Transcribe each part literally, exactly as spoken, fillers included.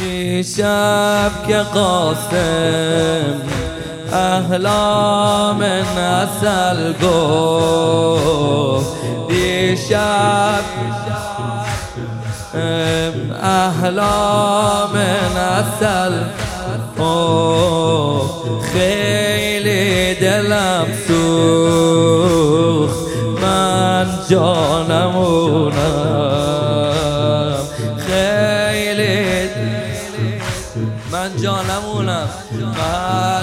دیشب که قاسم احلام نسل گفت، دیشب احلام نسل گفت، خیلی دلم سوخت، من جانمونم، خیلی من جانمونم، من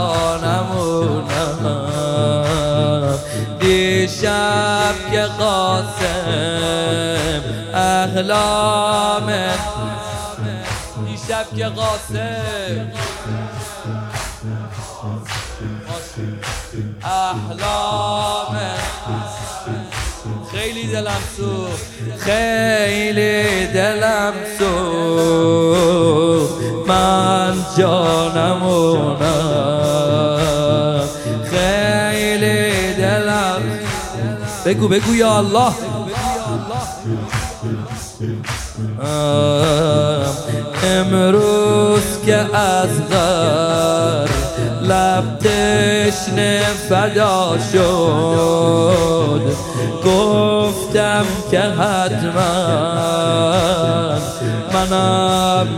جانمونم. دیشب که قاسم احلام، دیشب که قاسم احلام، خیلی دلم سوخت، خیلی دلم سوخت، من جانمونم، خیلی دلم. بگو بگو یا الله. امروز که از غر لب تشنه فدا شد، گفتم که حتما منم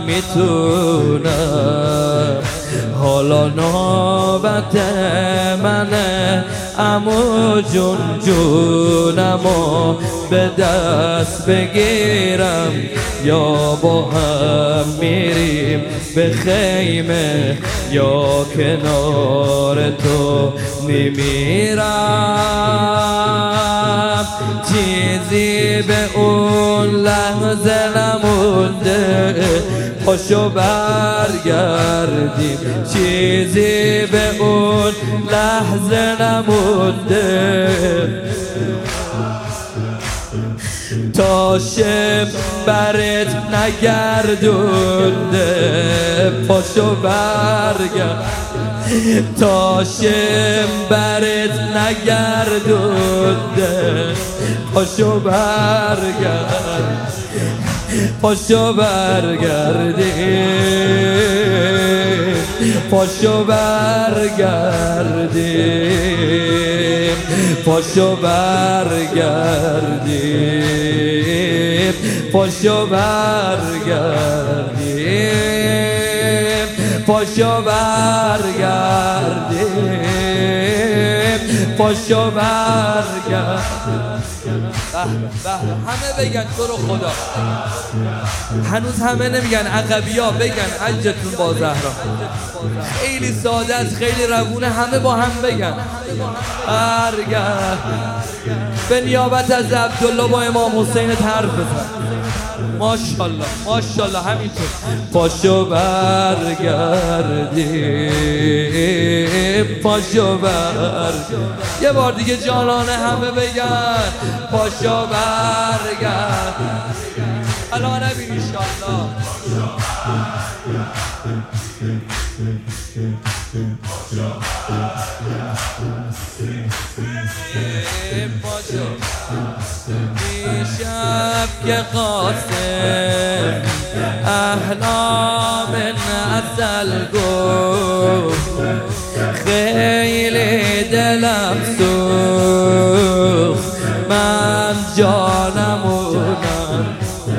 میتونم، حالا نوبت منه عمو جون، جونمو به دست بگیرم، یا با هم میریم به خیمه، یا کنار تو میمیرم. چیزی به اون لحظه نمونده، پاشو برگردیم، چیزی به اون لحظه نمونده، تا شب برت نگردونده، پاشو برگرد، تا شب برت نگردونده، پاشو برگرد، پاشو برگردیم، پاشو برگردیم، پاشو برگردیم، پاشو برگردیم، پاشو برگردیم، پاشو برگردیم. همه بگن تو رو خدا، هنوز همه نمیگن، عقبیا بگن حجتون با زهرا. خیلی ساده است، خیلی روونه، همه با هم بگن برگرد. به نیابت از عبدالله با امام حسین حرف بزن. ماشاءالله ماشاءالله همینطور. پاشو برگردیم، پاشو برگردیم. یه بار دیگه جانانه همه بگن پاشو برگرد. الان نبین انشالله. دیشب که قاسم احلام نسل گفت، خیلی دلم سوخت، من جانمونم.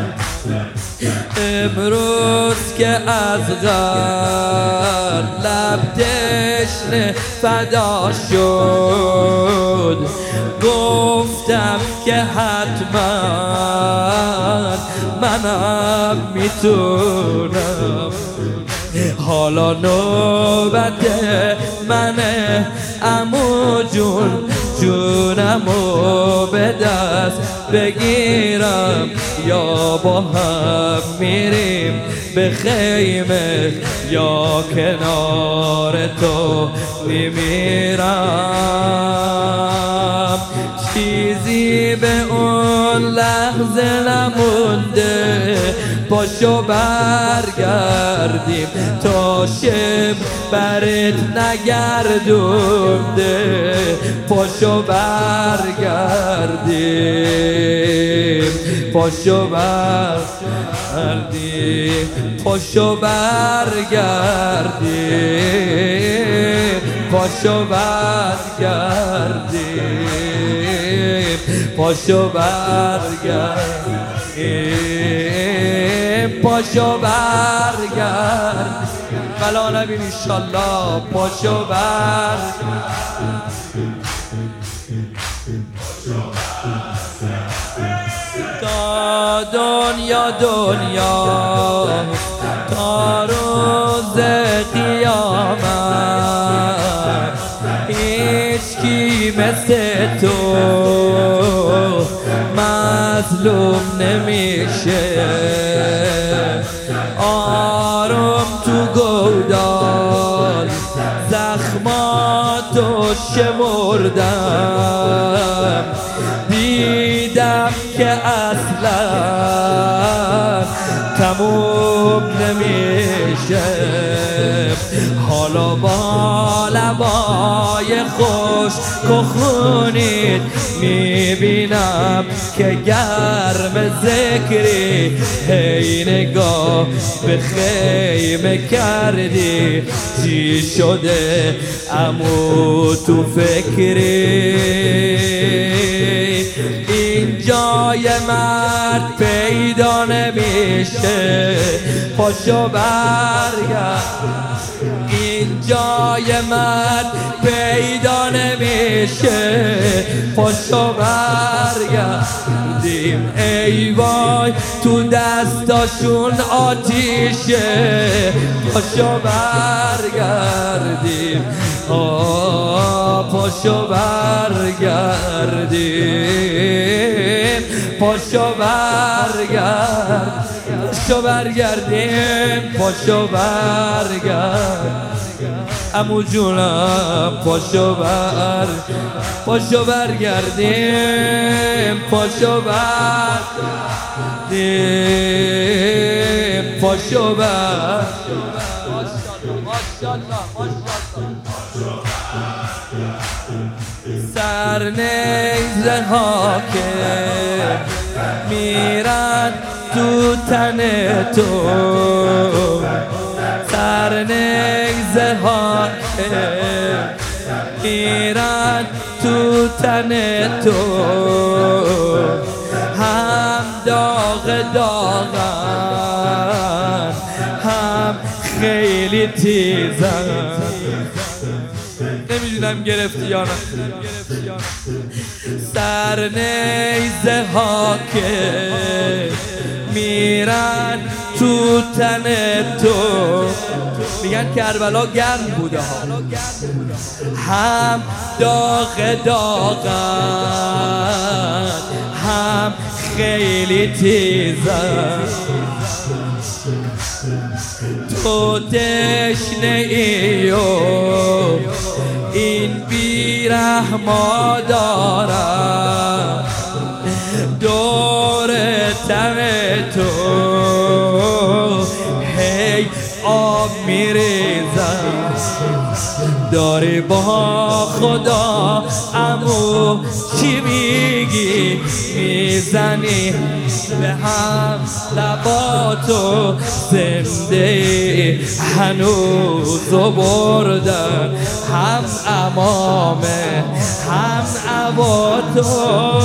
امروز که از غر لب تشنه فدا شد، گفتم که حتما منم میتونم. حالا نوبت منه عمو جون، جونمو به دست بگیرم، یا با هم میریم به خیمه، یا کنار تو میمیرم. چیزی به اون لحظه نمونده، پاشو برگردیم تا شب برات نگردونده، پاشو برگردیم، پاشو برگردیم، پاشو برگردیم، پاشو برگردیم، پاشو برگردیم، پاشو برگردیم، بلا نبین انشالله، پاشو برگردیم. تا دنیا دنیا تا روز قیامت هیچ کی مثل تو مظلوم نمیشه، آروم تو گودال زخماتو شمردم، دیدم که اصلا تموم نمیشه، حالا با لبای خوش کخونید میبینم که گرم ذکری، هی نگاه به خیمه کردی، چی شده امو تو فکری، این جای مرد پیدا نمیشه، پاشو برگرد، این جای مرد پیدا نمیشه، پاشو برگردیم، ای وای تو دستاشون آتیشه، پاشو برگردیم، آه پاشو برگردیم، پاشو برگرد، پاشو برگردیم، پاشو برگرد عمو جونم، پاشو بر پاشو برگردیم، پاشو بردیم، پاشو بر سرنیزه ها که میرن تو تن تو، سرنیزه ها که میرن تو تن تو، هم داغ داغن هم خیلی تیزن، نمیدونم گرفتی یا نه. سرنیزه ها که میرن تو تن تو، میگن کربلا گرم بوده ها، هم داغ داغن هم خیلی تیزن، تو تشنه ای و این بیرحما دارم، دور تن تو هی آب میریزم، داری با خدا عمو چی میگی، میزنی به هم لباتو، زنده هنوزو بردن، هم امامه هم عباتو،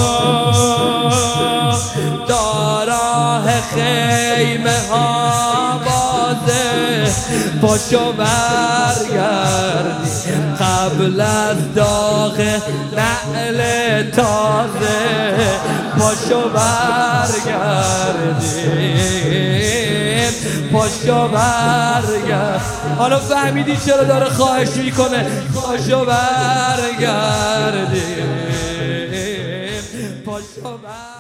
داراه خیمه ها بازه، پاشو برگردی قبل از داغ نعل تازه، پاشو برگردیم، پاشو برگرد. حالا فهمیدی چرا داره خواهش میکنه، پاشو برگردیم، پاشو برگردیم.